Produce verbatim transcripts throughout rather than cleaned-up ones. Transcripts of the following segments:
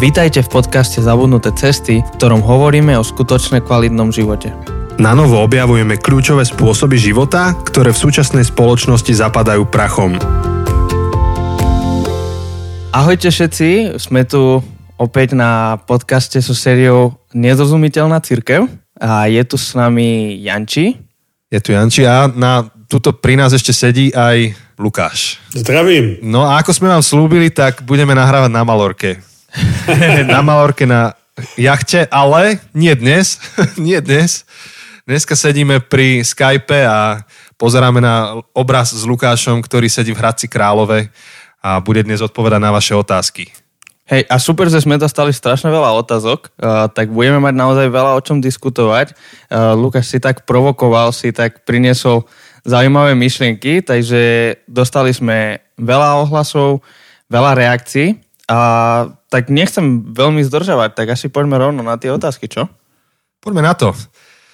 Vítajte v podcaste Zabudnuté cesty, v ktorom hovoríme o skutočne kvalitnom živote. Na novo objavujeme kľúčové spôsoby života, ktoré v súčasnej spoločnosti zapadajú prachom. Ahojte všetci, sme tu opäť na podcaste so sériou Nezrozumiteľná cirkev a je tu s nami Janči. Je tu Janči a na tuto pri nás ešte sedí aj Lukáš. Zdravím. No a ako sme vám slúbili, tak budeme nahrávať na Malorke. Na Malorke na jachte, ale nie dnes. nie dnes. Dneska sedíme pri Skype a pozeráme na obraz s Lukášom, ktorý sedí v Hradci Králové a bude dnes odpovedať na vaše otázky. Hej, a super, že sme dostali strašne veľa otázok, uh, tak budeme mať naozaj veľa o čom diskutovať. Uh, Lukáš si tak provokoval, si tak priniesol zaujímavé myšlienky, takže dostali sme veľa ohlasov, veľa reakcií a tak nechcem veľmi zdržavať, tak asi poďme rovno na tie otázky, čo? Poďme na to.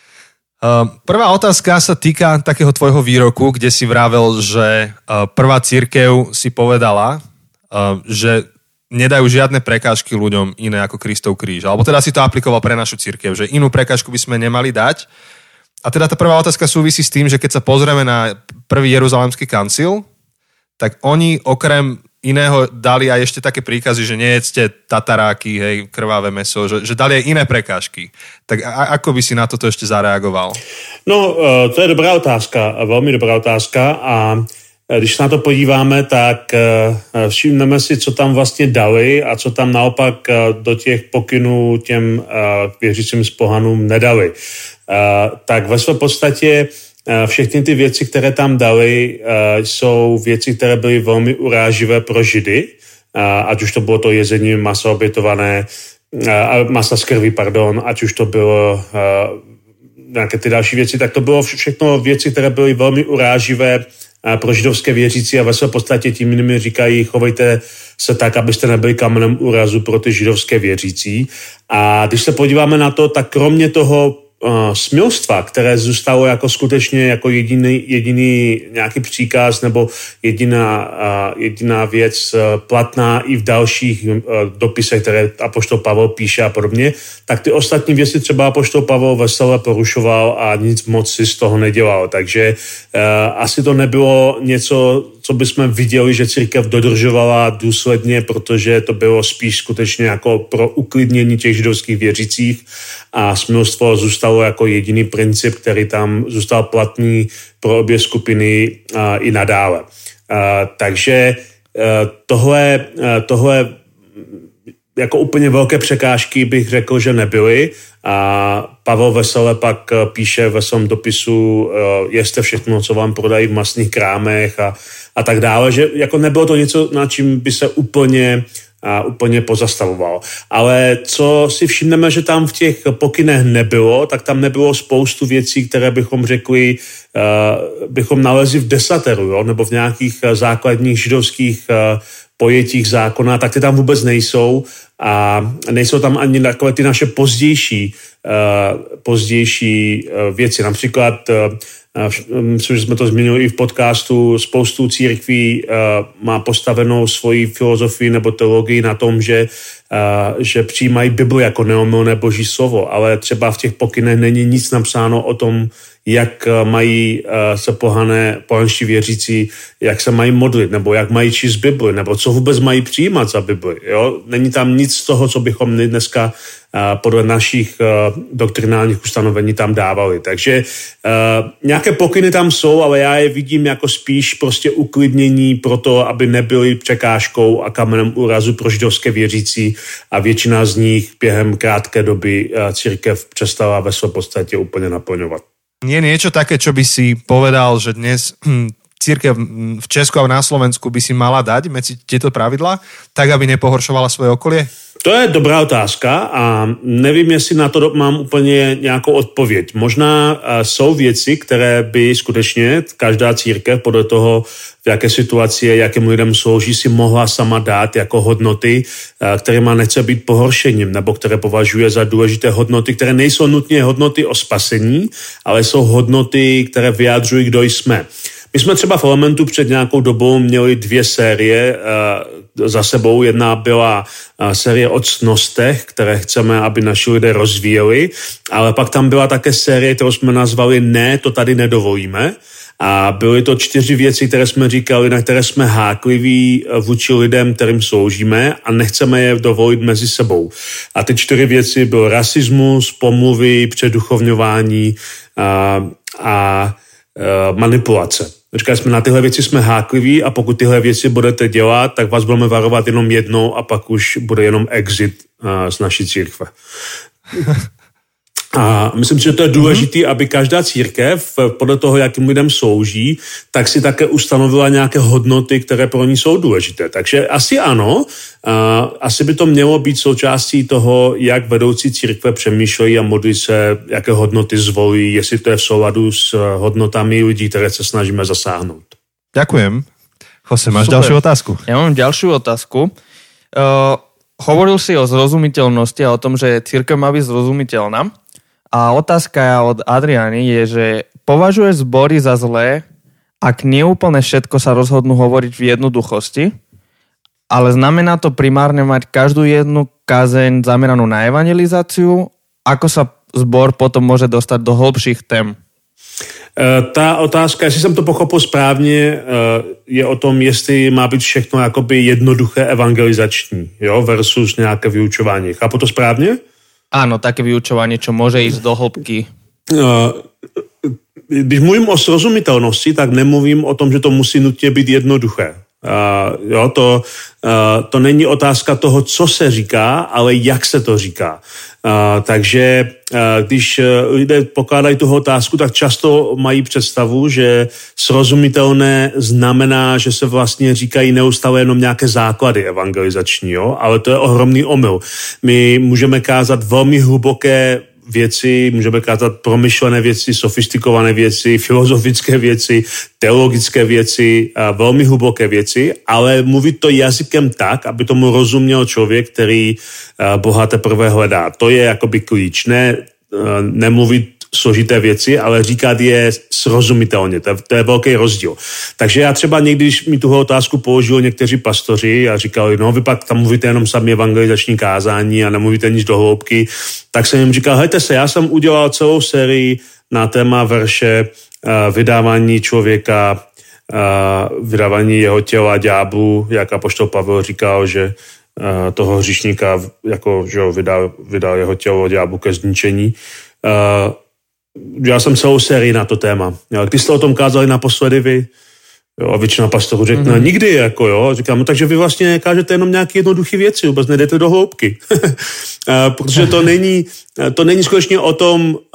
Uh, prvá otázka sa týka takého tvojho výroku, kde si vravel, že uh, prvá cirkev si povedala, uh, že nedajú žiadne prekážky ľuďom iné ako Kristov kríž. Alebo teda si to aplikoval pre našu cirkev, že inú prekážku by sme nemali dať. A teda tá prvá otázka súvisí s tým, že keď sa pozrieme na prvý Jeruzalemský kancil, tak oni okrem iného dali aj ešte také príkazy, že nejedzte tataráky, hej, krvavé mäso, že, že dali aj iné prekážky. Tak a, ako by si na toto ešte zareagoval? No, to je dobrá otázka, velmi dobrá otázka a když se na to podíváme, tak všimneme si, co tam vlastně dali a co tam naopak do těch pokynů těm věřícím z pohanům nedali. Tak ve své podstatě všechny ty věci, které tam dali, jsou věci, které byly velmi uráživé pro Židy, ať už to bylo to jezení masa obětované, masa z krví, pardon, ať už to bylo nějaké ty další věci, tak to bylo všechno věci, které byly velmi uráživé pro židovské věřící a ve své podstatě tím jinými říkají, chovejte se tak, abyste nebyli kamenem úrazu pro ty židovské věřící. A když se podíváme na to, tak kromě toho Uh, smilstva, které zůstalo jako skutečně jako jediný, jediný nějaký příkaz nebo jediná, uh, jediná věc uh, platná i v dalších uh, dopisech, které apoštol Pavel píše a podobně, tak ty ostatní věci třeba apoštol Pavel vesele porušoval a nic moc si z toho nedělal. Takže uh, asi to nebylo něco, co bychom viděli, že církev dodržovala důsledně, protože to bylo spíš skutečně jako pro uklidnění těch židovských věřících a smilstvo zůstalo jako jediný princip, který tam zůstal platný pro obě skupiny a, i nadále. A, takže a, tohle, a, tohle jako úplně velké překážky bych řekl, že nebyly. A Pavel vesele pak píše ve svém dopisu, jeste všechno, co vám prodají v masných krámech a, a tak dále, že jako nebylo to něco, na čím by se úplně a úplně pozastavoval. Ale co si všimneme, že tam v těch pokynech nebylo, tak tam nebylo spoustu věcí, které bychom řekli, uh, bychom nalezli v desateru, jo? Nebo v nějakých základních židovských uh, pojetích zákona, tak ty tam vůbec nejsou a nejsou tam ani takové ty naše pozdější, uh, pozdější uh, věci. Například uh, myslím, že jsme to zmínili i v podcastu, spoustu církví uh, má postavenou svoji filozofii nebo teologii na tom, že, uh, že přijímají Bibli jako neomylné boží slovo, ale třeba v těch pokynech není nic napsáno o tom, jak mají uh, se pohané, pohanští věřící, jak se mají modlit, nebo jak mají číst Bibli, nebo co vůbec mají přijímat za Bibli. Jo? Není tam nic z toho, co bychom dneska uh, podle našich uh, doktrinálních ustanovení tam dávali. Takže uh, nějaké pokyny tam jsou, ale já je vidím jako spíš prostě uklidnění pro to, aby nebyly překážkou a kamenem úrazu pro židovské věřící a většina z nich během krátké doby uh, církev přestala ve své podstatě úplně naplňovat. Nie niečo také, čo by si povedal, že dnes hm, cirkev v Česku a na Slovensku by si mala dať medzi tieto pravidlá, tak aby nepohoršovala svoje okolie? To je dobrá otázka a nevím, jestli na to mám úplně nějakou odpověď. Možná jsou věci, které by skutečně každá církev podle toho, v jaké situaci, jakým lidem slouží, si mohla sama dát jako hodnoty, kterýma nechce být pohoršením, nebo které považuje za důležité hodnoty, které nejsou nutně hodnoty o spasení, ale jsou hodnoty, které vyjádřují, kdo jsme. My jsme třeba v Elementu před nějakou dobou měli dvě série, za sebou. Jedna byla série o ctnostech, které chceme, aby naši lidé rozvíjeli, ale pak tam byla také série, kterou jsme nazvali Ne, to tady nedovolíme. A byly to čtyři věci, které jsme říkali, na které jsme hákliví vůči lidem, kterým sloužíme a nechceme je dovolit mezi sebou. A ty čtyři věci byl rasismus, pomluvy, předuchovňování a, a, a manipulace. Říkali jsme, na tyhle věci jsme hákliví a pokud tyhle věci budete dělat, tak vás budeme varovat jenom jednou a pak už bude jenom exit a, z naší církve. A myslím si, že to je důležité, mm-hmm. aby každá církev, podle toho, jakým lidem slouží, tak si také ustanovila nějaké hodnoty, které pro ní jsou důležité. Takže asi ano, a asi by to mělo být součástí toho, jak vedoucí církve přemýšlejí a modlí se, jaké hodnoty zvolí, jestli to je v souladu s hodnotami lidí, které se snažíme zasáhnout. Ďakujem. Jose, máš Super. Ďalšiu otázku? Ja mám ďalšiu otázku. Uh, hovoril si o zrozumiteľnosti a o tom, že církev má byť zrozumiteľná. A otázka od Adriany je, že považuješ zbory za zlé, ak neúplne všetko sa rozhodnú hovoriť v jednoduchosti, ale znamená to primárne mať každú jednu kázeň zameranú na evangelizáciu? Ako sa zbor potom môže dostať do hlbších tém? Ta otázka, jestli jsem to pochopil správně, je o tom, jestli má být všechno jakoby jednoduché evangelizační, jo, versus nějaké vyučování. Chápu to správně? Áno, také vyučovanie, čo môže ísť do hĺbky. Když mluvím o srozumitelnosti, tak nemluvím o tom, že to musí nutně být jednoduché. Uh, jo, to, uh, to není otázka toho, co se říká, ale jak se to říká. Uh, takže uh, když lidé pokládají tuhle otázku, tak často mají představu, že srozumitelné znamená, že se vlastně říkají neustále jenom nějaké základy evangelizační, jo? Ale to je ohromný omyl. My můžeme kázat velmi hluboké věci, můžeme kázat promyšlené věci, sofistikované věci, filozofické věci, teologické věci, velmi hluboké věci, ale mluvit to jazykem tak, aby tomu rozuměl člověk, který Boha teprve hledá. To je jakoby klíč. Ne, nemluvit složité věci, ale říkat je srozumitelně. To je, to je velký rozdíl. Takže já třeba někdy, když mi tuhle otázku položili někteří pastoři a říkali, no vy pak tam mluvíte jenom sami evangelizační kázání a nemluvíte nic do hloubky, tak jsem jim říkal, hejte se, já jsem udělal celou sérii na téma verše uh, vydávání člověka, uh, vydávání jeho těla ďáblu, jak apoštol Pavel říkal, že uh, toho hříšníka jako, že vydal, vydal jeho tělo ďáblu ke zničení. Uh, Já jsem celou sérii na to téma. Jo, když jste o tom kázali naposledy vy, jo, a většina pastorů řekne, mm-hmm. nikdy, jako jo. Říkám, no, takže vy vlastně kážete jenom nějaké jednoduché věci, vůbec nejdete do hloubky. Protože to není, to není skutečně o tom, uh,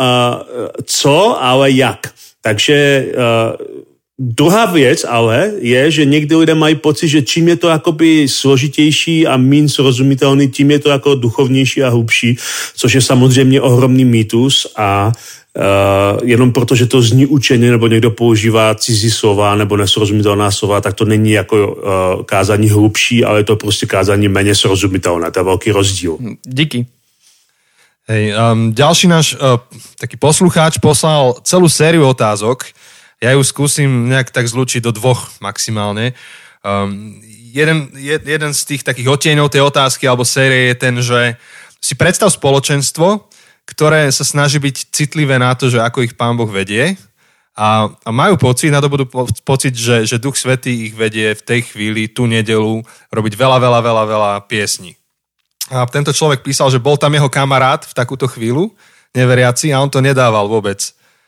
co, ale jak. Takže uh, druhá věc ale je, že někdy lidé mají pocit, že čím je to jakoby složitější a míň srozumitelný, tím je to jako duchovnější a hlubší, což je samozřejmě ohromný mýtus a Uh, jenom proto, že to zní učeně nebo někdo používá cizí slova nebo nesrozumitelná slova, tak to není jako uh, kázání hlubší, ale je to prostě kázání méně srozumitelné. To je velký rozdíl. Díky. Hej, um, ďalší náš uh, taký poslucháč poslal celú sériu otázok. Ja ju skúsim nejak tak zlučiť do dvoch maximálne. Um, jeden, jed, jeden z tých takých odtieňov tej otázky alebo série je ten, že si predstav spoločenstvo, ktoré sa snaží byť citlivé na to, že ako ich Pán Boh vedie a, a majú pocit, na to budú po, pocit, že, že Duch Svätý ich vedie v tej chvíli, tú nedeľu, robiť veľa, veľa, veľa, veľa piesní. A tento človek písal, že bol tam jeho kamarát v takúto chvíľu, neveriaci, a on to nedával vôbec.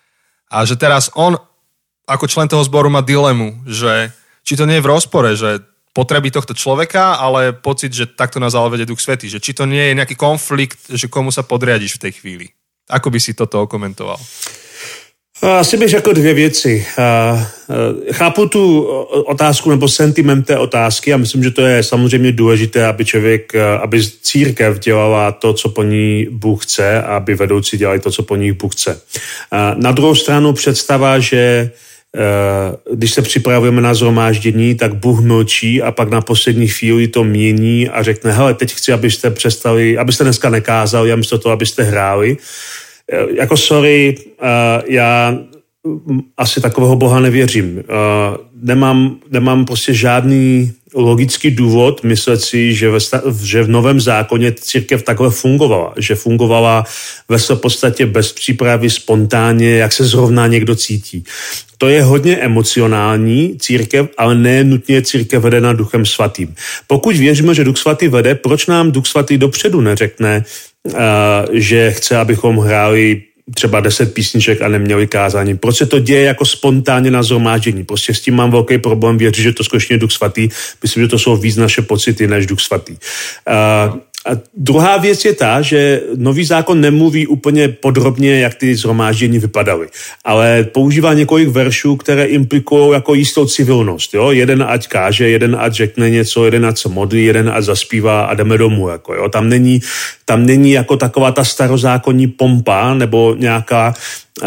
A že teraz on, ako člen toho zboru, má dilemu, že či to nie je v rozpore, že potreby tohto človeka, ale pocit, že takto nás ale vedie Duch Svätý. Že či to nie je nejaký konflikt, že komu sa podriadiš v tej chvíli. Ako by si toto okomentoval? Asi bych řekl dvě věci. Chápu tu otázku nebo sentiment té otázky a myslím, že to je samozřejmě důležité, aby člověk, aby církev dělala to, co po ní Bůh chce a aby vedoucí dělali to, co po ní Bůh chce. Na druhou stranu představa, že když se připravujeme na shromáždění, tak Bůh mlčí a pak na poslední chvíli to mění a řekne, hele, teď chci, abyste přestali, abyste dneska nekázali a místo toho, abyste hráli. Jako sorry, já asi takového Boha nevěřím. Nemám, nemám prostě žádný logický důvod myslet si, že, ve, že v Novém zákoně církev takhle fungovala. Že fungovala ve své podstatě bez přípravy, spontánně, jak se zrovna někdo cítí. To je hodně emocionální církev, ale ne nutně církev vedená Duchem svatým. Pokud věříme, že Duch svatý vede, proč nám Duch svatý dopředu neřekne, uh, že chce, abychom hráli třeba deset písniček a neměli kázání. Proč se to děje jako spontánně na shromáždění? Prostě s tím mám velký problém věřit, že to skutečně je Duch svatý. Myslím, že to jsou víc naše pocity než Duch svatý. Uh, A druhá věc je ta, že nový zákon nemluví úplně podrobně, jak ty shromáždění vypadaly, ale používá několik veršů, které implikují jako jistou civilnost. Jo? Jeden ať káže, jeden ať řekne něco, jeden ať se modlí, jeden ať zaspívá a jdeme domů. Jako, jo? Tam není, tam není jako taková ta starozákonní pompa nebo nějaká uh,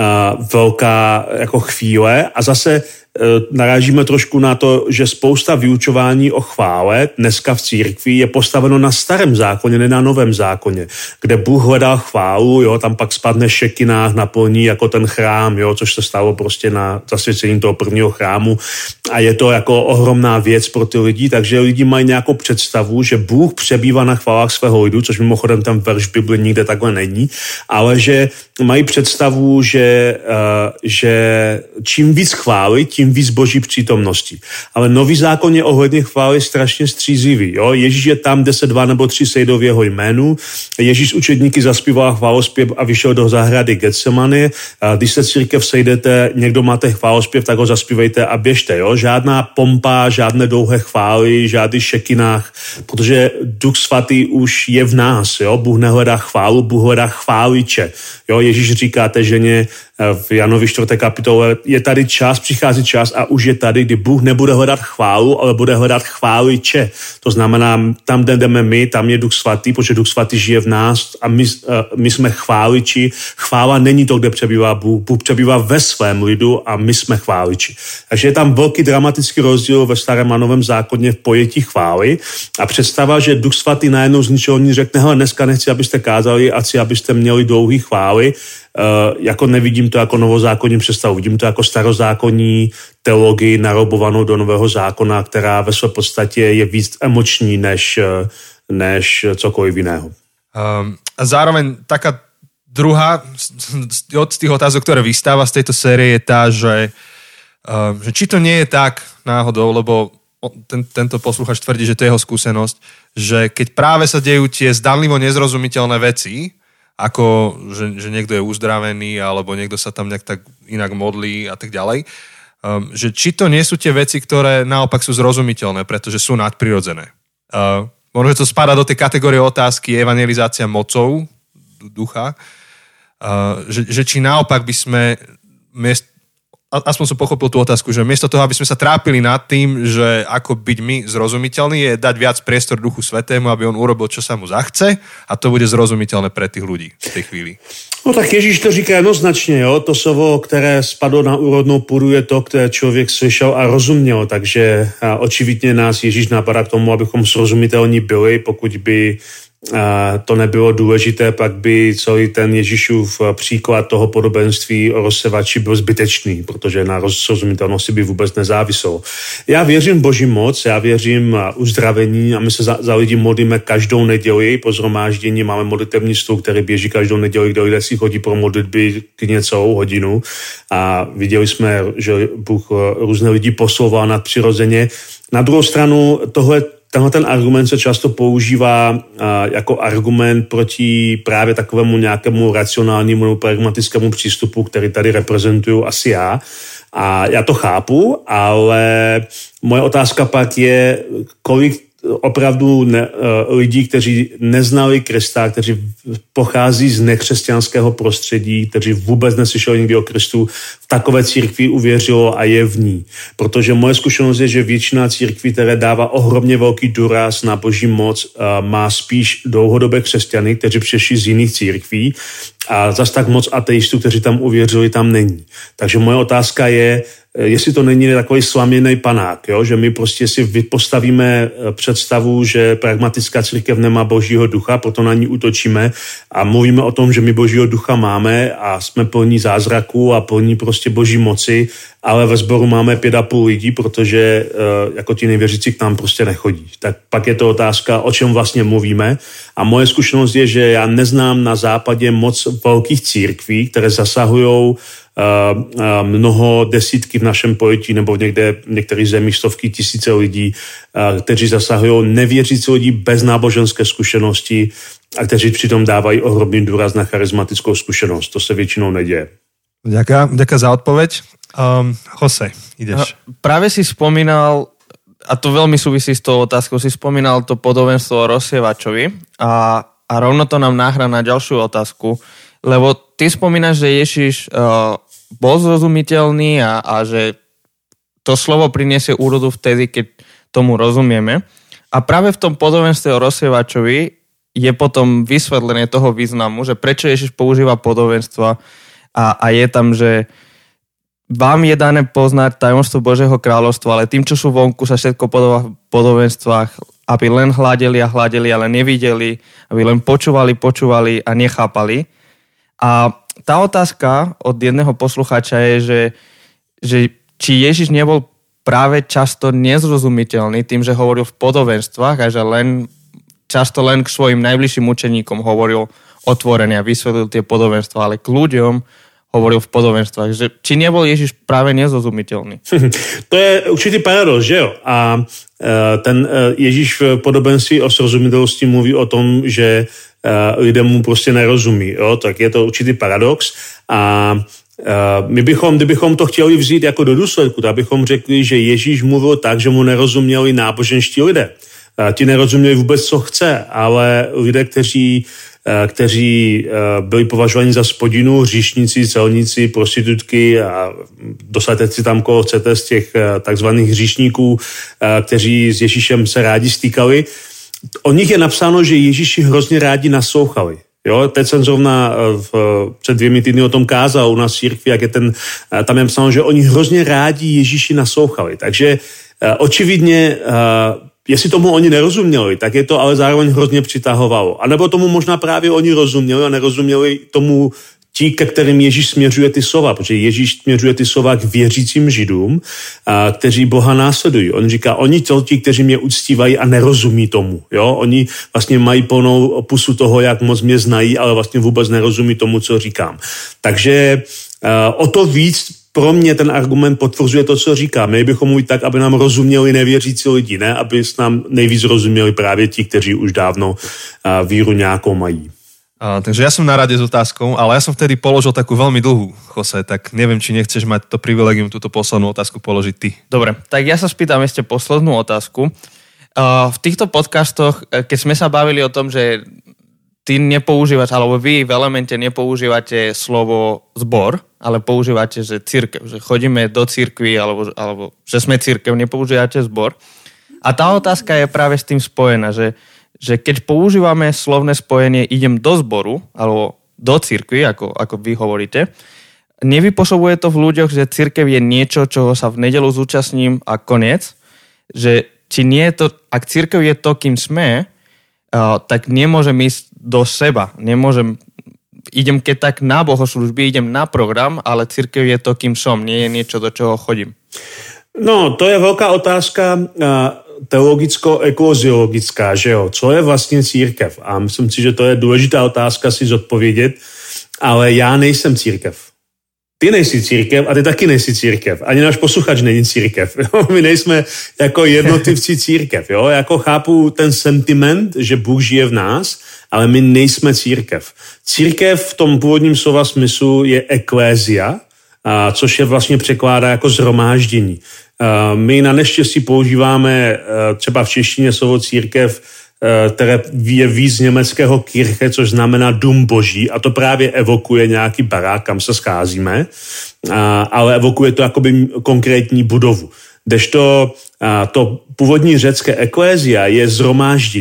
velká jako chvíle a zase narážíme trošku na to, že spousta vyučování o chvále dneska v církvi je postaveno na starém zákoně, ne na novém zákoně, kde Bůh hledal chválu, jo, tam pak spadne šekinách, naplní jako ten chrám, jo, což se stalo prostě na zasvěcení toho prvního chrámu a je to jako ohromná věc pro ty lidi, takže lidi mají nějakou představu, že Bůh přebývá na chválách svého lidu, což mimochodem ten verš v Bibli nikde takhle není, ale že mají představu, že, uh, že čím víc chvály, tím víc boží přítomnosti. Ale nový zákon je ohledně chvály strašně střízivý. Jo? Ježíš je tam, kde se dva nebo tři sejdou v jeho jménu. Ježíš učedníky zaspíval chválospěv a vyšel do zahrady Getsemany. Když se církev sejdete, někdo máte chválospěv, tak ho zaspívejte a běžte. Jo? Žádná pompa, žádné dlouhé chvály, žádný šekinách, protože Duch svatý už je v nás. Jo? Bůh nehledá chválu, Bůh hledá chváliče. Jo? Ježíš říkáte ženě v Janovi čtvrté kapitole, je tady čas, přichází čas a už je tady, kdy Bůh nebude hledat chválu, ale bude hledat chváliče. To znamená, tam, kde jdeme my, tam je Duch svatý, protože Duch svatý žije v nás a my, my jsme chváliči. Chvála není to, kde přebývá Bůh. Bůh přebývá ve svém lidu a my jsme chváliči. Takže je tam velký dramatický rozdíl ve starém a novém zákoně v pojetí chvály a představa, že Duch svatý najednou z ničeho nic řekne, hele, dneska nechci, abyste kázali, a chci, abyste měli dlouhý chvály. Uh, jako nevidím to jako novozákonní představu, vidím to jako starozákonní teologii narobovanou do nového zákona, která ve své podstatě je víc emoční než, než cokoliv jiného. Um, a zároveň taká druhá od tých otázok, ktoré vystáva z tejto série je tá, že, uh, že či to nie je tak náhodou, lebo ten, tento posluchač tvrdí, že to je jeho skúsenosť, že keď práve sa dejú tie zdanlivo nezrozumiteľné veci, ako, že, že niekto je uzdravený, alebo niekto sa tam nejak tak inak modlí a tak ďalej. Um, že či to nie sú tie veci, ktoré naopak sú zrozumiteľné, pretože sú nadprirodzené. Uh, možno, že to spadá do tej kategórie otázky evangelizácia mocou ducha, uh, že, že či naopak by sme miest, aspoň som pochopil tú otázku, že miesto toho, aby sme sa trápili nad tým, že ako byť my zrozumiteľný, je dať viac priestor Duchu Svätému, aby on urobil, čo sa mu zachce a to bude zrozumiteľné pre tých ľudí v tej chvíli. No tak Ježíš to říká jednoznačně, jo, to slovo, které spadlo na úrodnou půdu, je to, které člověk slyšel a rozuměl, takže očividně nás Ježíš napadá k tomu, abychom srozumitelní byli, pokud by a to nebylo důležité, pak by celý ten Ježíšův příklad toho podobenství o rozsevači byl zbytečný, protože na rozsrozumitelnosti by vůbec nezávisel. Já věřím Boží moc, já věřím uzdravení a my se za, za lidi modlíme každou neděli po shromáždění, máme modlitevní stůl, který běží každou neděli, kde lidé si chodí pro modlitby klidně celou hodinu a viděli jsme, že Bůh různé lidi posouval nadpřirozeně. Na druhou stranu tohle Tenhle ten argument se často používá uh, jako argument proti právě takovému nějakému racionálnímu nebo pragmatickému přístupu, který tady reprezentuju asi já. A já to chápu, ale moje otázka pak je, kolik opravdu ne, uh, lidí, kteří neznali Krista, kteří pochází z nekřesťanského prostředí, kteří vůbec neslyšeli nikdy o Kristu, v takové církvi uvěřilo a je v ní. Protože moje zkušenost je, že většina církví, které dává ohromně velký důraz na Boží moc, uh, má spíš dlouhodobé křesťany, kteří přišli z jiných církví a zas tak moc ateistů, kteří tam uvěřili, tam není. Takže moje otázka je, jestli to není takový slaměný panák, jo? Že my prostě si postavíme představu, že pragmatická církev nemá Božího ducha, proto na ní útočíme a mluvíme o tom, že my Božího ducha máme a jsme plní zázraků a plní prostě prostě boží moci, ale ve sboru máme pět a půl lidí, protože jako ti nevěřící k nám prostě nechodí. Tak pak je to otázka, o čem vlastně mluvíme. A moje zkušenost je, že já neznám na západě moc velkých církví, které zasahují mnoho desítky v našem pojetí nebo někde v některých zemích stovky tisíce lidí, kteří zasahují nevěřící lidi bez náboženské zkušenosti a kteří přitom dávají ohromný důraz na charizmatickou zkušenost. To se většinou neděje. Ďakujem, ďakujem za odpoveď. Um, Jose, ideš. Práve si spomínal, a to veľmi súvisí s tou otázkou, si spomínal to podobenstvo o rozsievačovi a, a rovno to nám náhra na ďalšiu otázku, lebo ty spomínaš, že Ježiš uh, bol zrozumiteľný a, a že to slovo priniesie úrodu vtedy, keď tomu rozumieme. A práve v tom podobenstve o rozsievačovi je potom vysvetlenie toho významu, že prečo Ježiš používa podobenstva a, a je tam, že vám je dané poznať tajomstvo Božieho kráľovstva, ale tým, čo sú vonku, sa všetko podobá v podobenstvách, aby len hľadeli a hľadeli, ale nevideli, aby len počúvali, počúvali a nechápali. A tá otázka od jedného poslucháča je, že, že či Ježiš nebol práve často nezrozumiteľný tým, že hovoril v podobenstvách a že len často len k svojim najbližším učeníkom hovoril otvorene a vysvetlil tie podobenstva, ale k ľuďom hovoril v podobenstvách. Že, či nebol Ježiš práve nezrozumiteľný? To je určitý paradox, že jo? A ten Ježíš v podobenství o srozumiteľnosti mluví o tom, že lidem mu prostě nerozumí. Jo? Tak je to určitý paradox. A my bychom, kdybychom to chtěli vzít jako do důsledku, tak bychom řekli, že Ježíš mluvil tak, že mu nerozuměli náboženští lidé. Ti nerozuměli vůbec, co chce, ale lidé, kteří, kteří byli považováni za spodinu, hříšníci, celníci, prostitutky a dosaďte si tam, koho chcete z těch takzvaných hříšníků, kteří s Ježíšem se rádi stýkali. O nich je napsáno, že Ježíši hrozně rádi naslouchali. Jo, teď jsem zrovna v, před dvěmi týdny o tom kázal u nás v církvi, jak je ten, tam je napsáno, že oni hrozně rádi Ježíši naslouchali. Takže očividně jestli tomu oni nerozuměli, tak je to ale zároveň hrozně přitahovalo. A nebo tomu možná právě oni rozuměli a nerozuměli tomu ti, ke kterým Ježíš směřuje ty slova, protože Ježíš směřuje ty slova k věřícím Židům, a, kteří Boha následují. On říká, oni to ti, kteří mě uctívají a nerozumí tomu. Jo? Oni vlastně mají plnou pusu toho, jak moc mě znají, ale vlastně vůbec nerozumí tomu, co říkám. Takže a, o to víc pro mě ten argument potvrzuje to, co říkám. Měli bychom mluvit tak, aby nám rozuměli nevěřící lidi, ne? Aby s nám nejvíc rozuměli právě ti, kteří už dávno a, víru nějakou mají. A, takže ja som na rade s otázkou, ale ja som vtedy položil takú veľmi dlhú, Jose, tak neviem, či nechceš mať to privilegium túto poslednú otázku položiť ty. Dobre, tak ja sa spýtam ešte poslednú otázku. Uh, v týchto podcastoch, keď sme sa bavili o tom, že ty nepoužívaš, alebo vy v Elemente nepoužívate slovo zbor, ale používate, že cirkev, že chodíme do cirkvi, alebo, alebo že sme cirkev, nepoužívate zbor. A tá otázka je práve s tým spojená, že že keď používame slovné spojenie idem do zboru, alebo do cirkvi, ako, ako vy hovoríte, nevypôsobuje to v ľuďoch, že cirkev je niečo, čoho sa v nedeľu zúčastním a koniec, že či nie je to, ak cirkev je to, kým sme, uh, tak nemôžem ísť do seba, nemôžem, idem keď tak na bohoslužby, idem na program, ale cirkev je to, kým som, nie je niečo, do čoho chodím. No, to je veľká otázka uh... teologicko-ekoloziologická, že jo, co je vlastně církev? A myslím si, že to je důležitá otázka si zodpovědět, ale já nejsem církev. Ty nejsi církev a ty taky nejsi církev. Ani náš posluchač není církev. Jo? My nejsme jako jednotlivci církev. Jo? Jako chápu ten sentiment, že Bůh žije v nás, ale my nejsme církev. Církev v tom původním slova smyslu je eklézia, a což je vlastně překládá jako zhromáždění. My na neštěstí používáme třeba v češtině slovo církev, které je víc z německého Kirche, což znamená dům boží, a to právě evokuje nějaký barák, kam se scházíme, ale evokuje to jakoby konkrétní budovu. Kdežto to původní řecké eklézia je zhromáždění.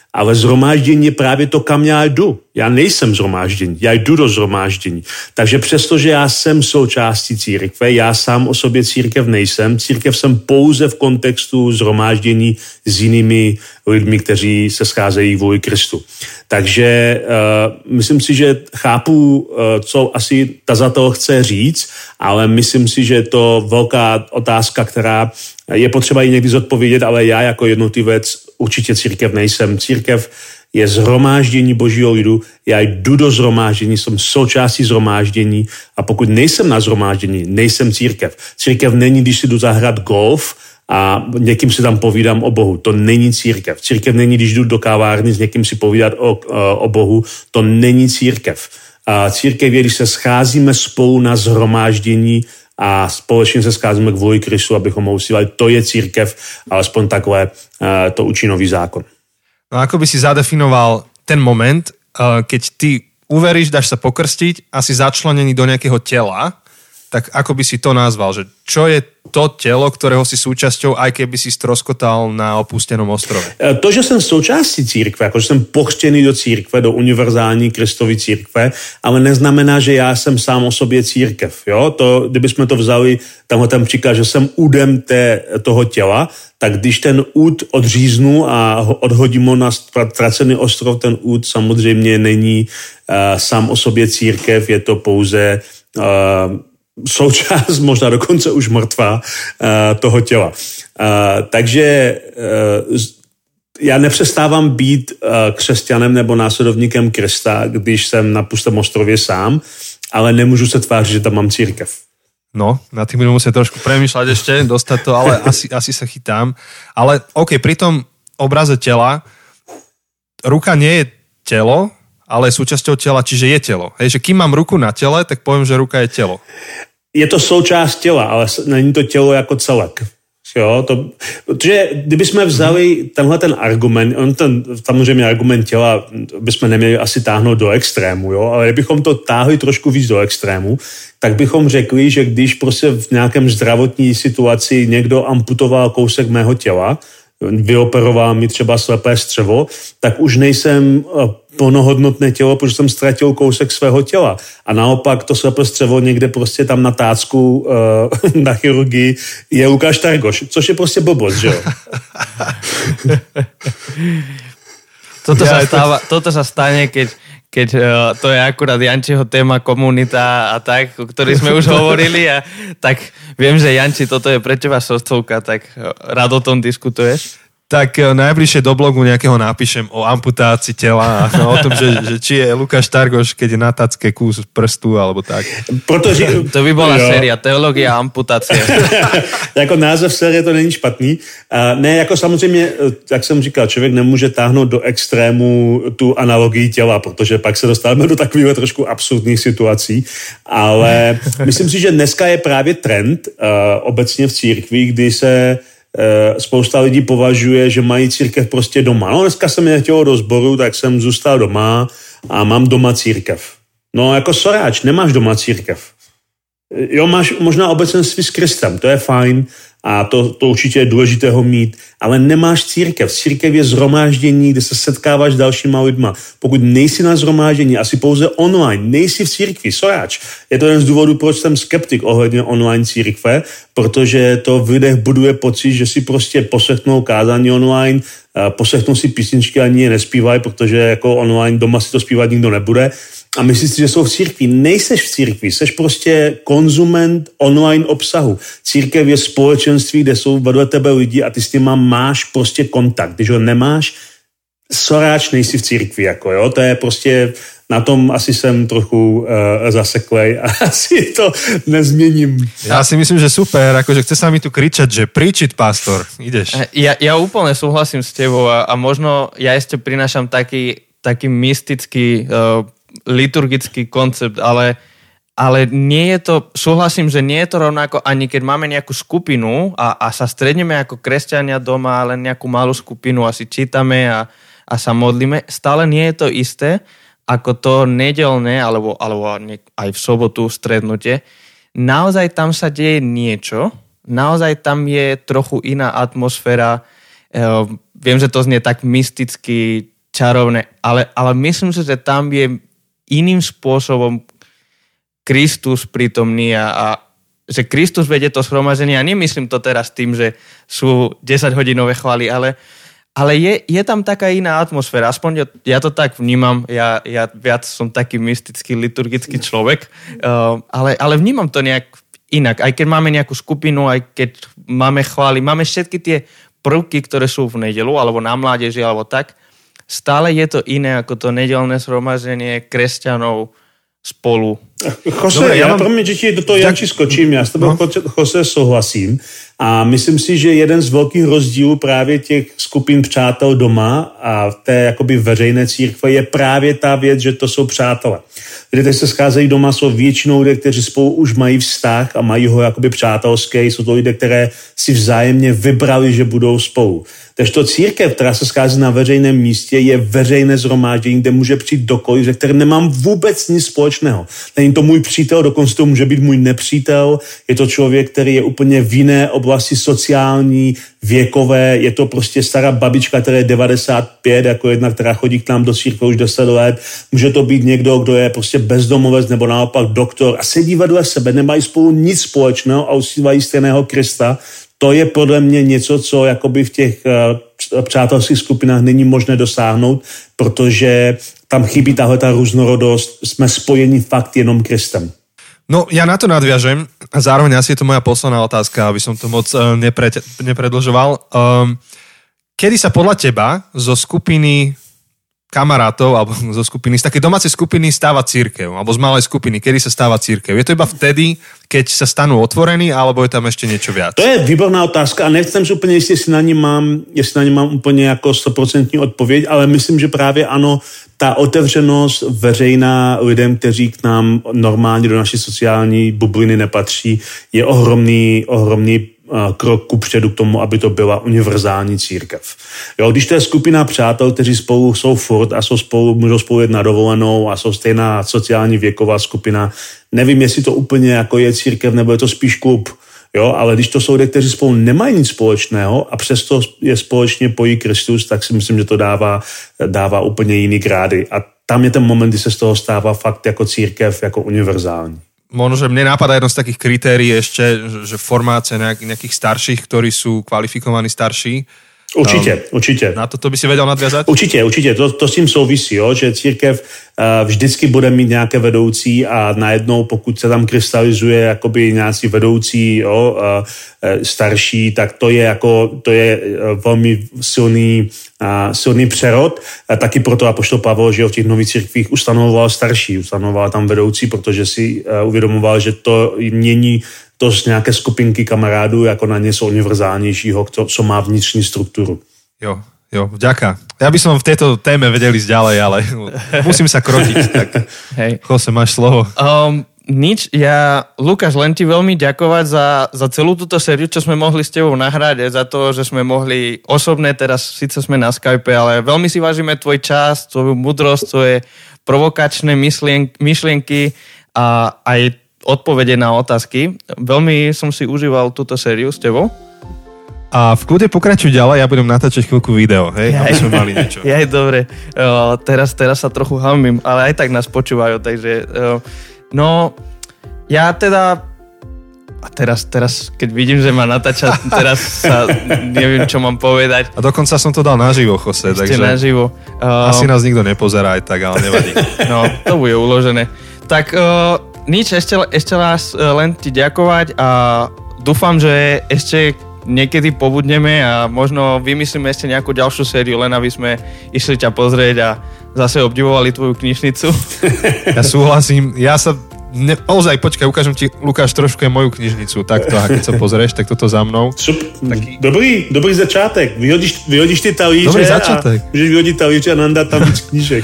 Ale zhromáždění je právě to, kam já jdu. Já nejsem zhromáždění, já jdu do zhromáždění. Takže přestože já jsem součástí církve, já sám o sobě církev nejsem. Církev jsem pouze v kontextu zhromáždění s jinými lidmi, kteří se scházejí kvůli Kristu. Takže uh, myslím si, že chápu, uh, co asi tazatel chce říct, ale myslím si, že je to velká otázka, která je potřeba ji někdy zodpovědět, ale já jako jednotlivec určitě církev nejsem. Církev je zhromáždění Božího lidu, já jdu do zhromáždění, jsem součástí zhromáždění a pokud nejsem na zhromáždění, nejsem církev. Církev není, když si jdu zahrát golf a někým si tam povídám o Bohu. To není církev. Církev není, když jdu do kavárny s někým si povídat o, o Bohu. To není církev. A církev je, když se scházíme spolu na zhromáždění a společně se scházíme kvůli Kristu, abychom ho usílali. To je církev, alespoň takhle to učí nový zákon. No ako by si zadefinoval ten moment, keď ty uveríš, dáš sa pokrstiť a si začlenený do nejakého tela, tak ako by si to nazval? Že čo je to telo, ktorého si súčasťou, aj keby si stroskotal na opustenom ostrove? To, že jsem součástí církve, jako že jsem pokřtěný do církve, do univerzální Kristovy církve, ale neznamená, že já jsem sám o sobě církev. Jo? To, kdybychom to vzali, tamhle tam příklad, že jsem údem té, toho těla, tak když ten úd odříznu a odhodím ho na ztracený ostrov, ten úd samozřejmě není uh, sám o sobě církev, je to pouze uh, součást, možná dokonce už mrtvá uh, toho těla. Uh, takže uh, já nepřestávám být uh, křesťanem nebo následovníkem Krista, když jsem na pustém ostrově sám, ale nemůžu se tvářit, že tam mám církev. No, na tým budem musieť trošku premýšľať ešte, dostať to, ale asi, asi sa chytám. Ale OK, pri tom obraze tela ruka nie je telo, ale je súčasťou tela, čiže je telo. Hej, že kým mám ruku na tele, tak poviem, že ruka je telo. Je to součást těla, ale není to tělo jako celek. Jo, to, protože kdybychom vzali tenhle ten argument, on ten samozřejmě argument těla bychom neměli asi táhnout do extrému, jo, ale kdybychom to táhli trošku víc do extrému, tak bychom řekli, že když prostě v nějakém zdravotní situaci někdo amputoval kousek mého těla, vyoperoval mi třeba slepé střevo, tak už nejsem plnohodnotné tělo, protože jsem ztratil kousek svého těla. A naopak to slepé střevo někde prostě tam na tácku uh, na chirurgii je Lukáš Targoš, což je prostě blbost, že jo? Toto sa, stáva, toto sa stane, keď, keď uh, to je akurát Jančiho téma komunita a tak, o ktorej sme už hovorili a tak viem, že Janči, toto je pre teba srdcovka, tak uh, rád o tom diskutuješ. Tak najbližšie do blogu nejakého napíšem o amputácii tela a o tom, že, že či je Lukáš Targoš, keď je na tacke kus prstu alebo tak. Protože, to by bola jo. séria, teológia a amputácie. Jako název série to není špatný. Uh, ne, jako samozřejmě, jak jsem říkal, člověk nemůže táhnout do extrému tu analogii těla, protože pak se dostáváme do takových trošku absurdních situací, ale myslím si, že dneska je právě trend uh, obecně v církvi, kdy se spousta lidí považuje, že mají církev prostě doma. No dneska jsem nechtěl do sboru, tak jsem zůstal doma a mám doma církev. No jako soráč, nemáš doma církev. Jo, máš možná obecenství s Kristem, to je fajn a to, to určitě je důležité ho mít, ale nemáš církev. Církev je zhromáždění, kde se setkáváš s dalšíma lidma. Pokud nejsi na zhromáždění, asi pouze online, nejsi v církvi, soráč. Je to jeden z důvodů, proč jsem skeptik ohledně online církve, protože to v lidech buduje pocit, že si prostě poslechnou kázání online, poslechnou si písničky a ani je nespívají, protože jako online doma si to zpívat nikdo nebude. A myslíš si, že jsou v církvi. Nejseš v církvi, seš prostě konzument online obsahu. Církev je společenství, kde jsou vedle tebe lidi a ty s nima máš prostě kontakt. Když ho nemáš, soráč nejsi v církvi. Jako, jo? To je prostě, na tom asi jsem trochu uh, zaseklej a asi to nezměním. Ja si myslím, že super, akože chce sa mi tu kričať, že príčiť, pastor, ideš. Ja, ja úplne súhlasím s tebou a, a možno ja ešte prinášam taký, taký mystický uh, liturgický koncept, ale, ale nie je to, súhlasím, že nie je to rovnako ani keď máme nejakú skupinu a, a sa stredneme ako kresťania doma, len nejakú malú skupinu a si čítame a, a sa modlíme, stále nie je to isté ako to nedeľné alebo, alebo aj v sobotu strednutie. Naozaj tam sa deje niečo, naozaj tam je trochu iná atmosféra. E, viem, že to znie tak mysticky, čarovné, ale, ale myslím si, že tam je iným spôsobom Kristus prítomný a, a že Kristus vedie to zhromaždenie a nemyslím to teraz tým, že sú desaťhodinové chvály, ale, ale je, je tam taká iná atmosféra. Aspoň ja, ja to tak vnímam, ja, ja viac som taký mystický, liturgický človek, uh, ale, ale vnímam to nejak inak. Aj keď máme nejakú skupinu, aj keď máme chvály, máme všetky tie prvky, ktoré sú v nedeľu, alebo na mládeži, alebo tak, stále je to iné ako to nedeľné zhromaždenie kresťanov spolu. Jose, Dobre, já, já promiň, že ti do toho Janči skočím, já s tebou, no. Jose, souhlasím a myslím si, že jeden z velkých rozdílů právě těch skupin přátel doma a té jakoby veřejné církve je právě ta věc, že to jsou přátelé. Lidé, kteří se scházejí doma, jsou většinou lidé, kteří spolu už mají vztah a mají ho jakoby přátelský, jsou to lidé, které si vzájemně vybrali, že budou spolu. Takže to církev, která se schází na veřejném místě, je veřejné shromáždění, kde může přijít dokoliv, se kterým nemám vůbec nic společného. Není to můj přítel, dokonce to může být můj nepřítel, je to člověk, který je úplně v jiné oblasti sociální, věkové, je to prostě stará babička, která je devadesát pět, jako jedna, která chodí k nám do církve už deset let, může to být někdo, kdo je prostě bezdomovec nebo naopak doktor a sedí vedle sebe, nemají spolu nic společného a uctívají stejného Krista. To je podle mě něco, co jakoby v těch uh, přátelských skupinách není možné dosáhnout, protože tam chybí tahle ta různorodost, jsme spojeni fakt jenom Kristem. No, ja na to nadviažem a zároveň asi je to moja posledná otázka, aby som to moc uh, nepre, nepredlžoval. Um, kedy sa podľa teba zo skupiny kamarátov alebo zo skupiny, z takej domácej skupiny stáva cirkev, alebo z malej skupiny, kedy sa stáva cirkev? Je to iba vtedy, keď sa stanú otvorení, alebo je tam ešte niečo viac? To je výborná otázka a nevím si úplně jistě, jestli na ní mám, jestli na ní mám úplně jako stoprocentní odpověď, ale myslím, že právě ano, ta otevřenost veřejná lidem, kteří k nám normálně do naší sociální bubliny nepatří, je ohromný, ohromný krok kupředu k tomu, aby to byla univerzální církev. Jo, když to je skupina přátel, kteří spolu jsou furt a jsou spolu, můžou spolu jít na dovolenou a jsou stejná sociální věková skupina, nevím, jestli to úplně jako je církev, nebo je to spíš klub. Jo, ale když to jsou lidé, kteří spolu nemají nic společného a přesto je společně pojí Kristus, tak si myslím, že to dává, dává úplně jiný grády. A tam je ten moment, kdy se z toho stává fakt jako církev, jako univerzální. Možno, že mne napadá jedno z takých kritérií ešte, že formácia nejak, nejakých starších, ktorí sú kvalifikovaní starší. Určitě, um, určitě. Na to, to by si vedel nadviazať? Určitě, určitě. To, to s tím souvisí, jo? Že církev uh, vždycky bude mít nějaké vedoucí a najednou, pokud se tam krystalizuje jakoby nějací vedoucí, jo, uh, starší, tak to je jako, to je uh, velmi silný, uh, silný přerod. Uh, taky proto apoštol Pavel, že v těch nových církvích ustanovoval starší, ustanovoval tam vedoucí, protože si uh, uvědomoval, že to mění to z nějaké skupinky kamarádů jako na něco univerzálnějšího, co má vnitřní strukturu. Jo, jo, vďaka. Ja by som v tejto téme vedel ísť ďalej, ale musím sa krotiť. Tak, hej. Jose, máš slovo. Um, nič, ja, Lukáš, len ti veľmi ďakovať za, za celú túto sériu, čo sme mohli s tebou nahrať, za to, že sme mohli osobné, teraz síce sme na Skype, ale veľmi si vážime tvoj čas, tvoju múdrosť, tvoje provokačné myšlien, myšlienky a aj odpovede na otázky. Veľmi som si užíval túto sériu s tebou. A v kľude pokračuj ďalej, ja budem natáčať chvíľku video, hej? Aby sme mali niečo. Jaj, dobre. O, teraz, teraz sa trochu hamím, ale aj tak nás počúvajú, takže o, no, ja teda a teraz, teraz, keď vidím, že ma natáča, teraz sa neviem, čo mám povedať. A dokonca som to dal naživo, Jose, Ešte takže naživo. Uh, asi nás nikto nepozerá aj tak, ale nevadí. No, to bude uložené. Tak uh, nič, ešte, ešte raz len ti ďakovať a dúfam, že ešte niekedy pobudneme a možno vymyslíme ešte nejakú ďalšiu sériu, len aby sme išli ťa pozrieť a zase obdivovali tvoju knižnicu. Ja súhlasím, ja sa Ne, ozaj, počkaj, ukážem ti, Lukáš, trošku je moju knižnicu, takto, a keď sa pozrieš, tak toto za mnou. Super, taký... dobrý, dobrý začátek, vyhodíš, vyhodíš ty talíře dobrý začátek. A můžeš vyhodit talíře a nandať tam víc knížek.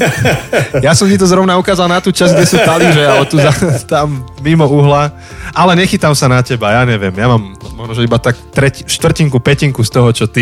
Ja som ti to zrovna ukázal na tú časť, kde sú talíře, ale tu za, tam mimo uhla, ale nechytám sa na teba, ja neviem, ja mám možno iba tak treti, štvrtinku, petinku z toho, čo ty.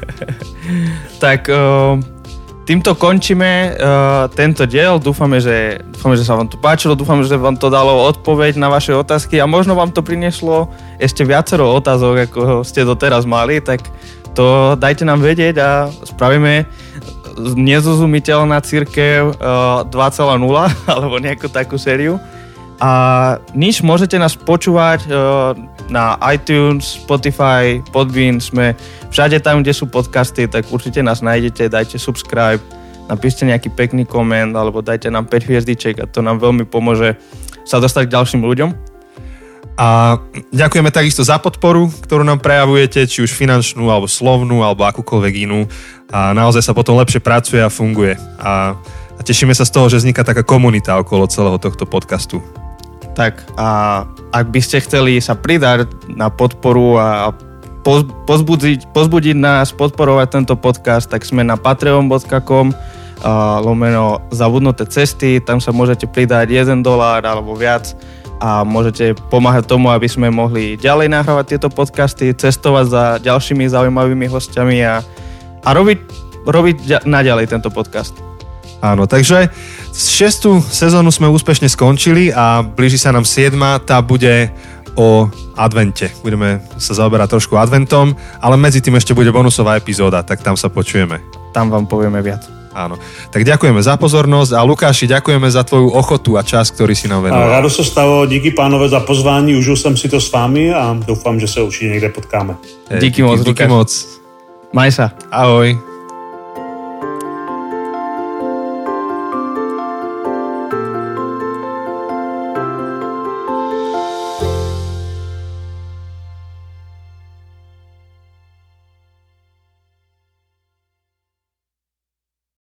Tak... Uh... Týmto končíme uh, tento diel. Dúfame že, dúfame, že sa vám to páčilo, dúfame, že vám to dalo odpoveď na vaše otázky a možno vám to prinieslo ešte viacero otázok, ako ste doteraz mali, tak to dajte nám vedieť a spravíme nezrozumiteľná cirkev uh, dva bodka nula alebo nejakú takú sériu. A nič, môžete nás počúvať uh, na iTunes, Spotify, Podbean, sme všade tam, kde sú podcasty, tak určite nás nájdete, dajte subscribe, napíšte nejaký pekný koment alebo dajte nám päť hviezdiček a to nám veľmi pomôže sa dostať k ďalším ľuďom. A ďakujeme takisto za podporu, ktorú nám prejavujete, či už finančnú, alebo slovnú, alebo akúkoľvek inú. A naozaj sa potom lepšie pracuje a funguje. A, a tešíme sa z toho, že vzniká taká komunita okolo celého tohto podcastu. Tak a ak by ste chceli sa pridať na podporu a pozbudiť, pozbudiť nás, podporovať tento podcast, tak sme na patreon bodka com a lomeno zabudnuté cesty, tam sa môžete pridať jeden dolár alebo viac a môžete pomáhať tomu, aby sme mohli ďalej nahrávať tieto podcasty, cestovať za ďalšími zaujímavými hostiami a, a robiť, robiť naďalej tento podcast. Áno, takže šiestú sezónu sme úspešne skončili a blíži sa nám siedma, tá bude o advente. Budeme sa zaoberať trošku adventom, ale medzi tým ešte bude bonusová epizóda, tak tam sa počujeme. Tam vám povieme viac. Áno. Tak ďakujeme za pozornosť a Lukáši, ďakujeme za tvoju ochotu a čas, ktorý si nám venoval. Rádo se stalo, díky pánové za pozvání, užil jsem si to s vámi a doufám, že se určitě někde potkáme. Díky moc, díky, díky moc. Maj sa. Ahoj.